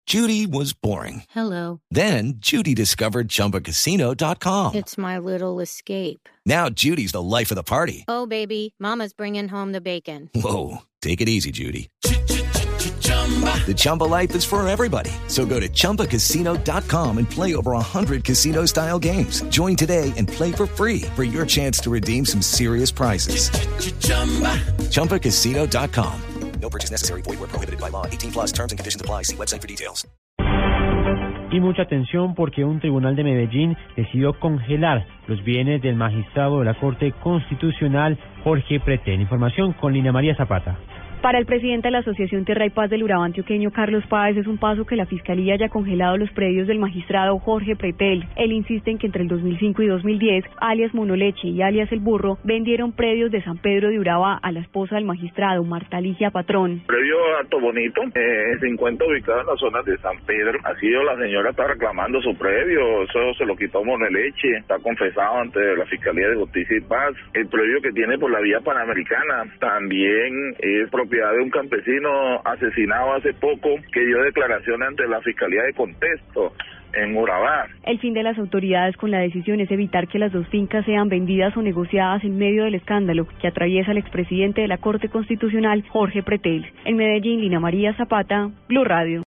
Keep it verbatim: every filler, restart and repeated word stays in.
Judy was boring. Hello. Then Judy discovered Chumba Casino dot com. It's my little escape. Now Judy's the life of the party. Oh, baby, mama's bringing home the bacon. Whoa, take it easy, Judy. The Chumba life is for everybody. So go to Chumba Casino dot com and play over one hundred casino-style games. Join today and play for free for your chance to redeem some serious prizes. Chumba Casino dot com. No purchase necessary. Void where prohibited by law. eighteen plus terms and conditions apply. See website for details. Y mucha atención porque un tribunal de Medellín decidió congelar los bienes del magistrado de la Corte Constitucional, Jorge Pretel. Información con Lina María Zapata. Para el presidente de la Asociación Tierra y Paz del Urabá Antioqueño, Carlos Páez, es un paso que la Fiscalía haya congelado los predios del magistrado Jorge Pretel. Él insiste en que entre el dos mil cinco y dos mil diez, alias Monoleche y alias El Burro, vendieron predios de San Pedro de Urabá a la esposa del magistrado, Marta Ligia Patrón. Predio Alto Bonito, eh, se encuentra ubicado en la zona de San Pedro. Así la señora está reclamando su predio, eso se lo quitó Monoleche, está confesado ante la Fiscalía de Justicia y Paz. El predio que tiene por la vía Panamericana también es propiedad de un campesino asesinado hace poco que dio declaración ante la Fiscalía de Contexto en Urabá. El fin de las autoridades con la decisión es evitar que las dos fincas sean vendidas o negociadas en medio del escándalo que atraviesa el expresidente de la Corte Constitucional, Jorge Pretel. En Medellín, Lina María Zapata, Blue Radio.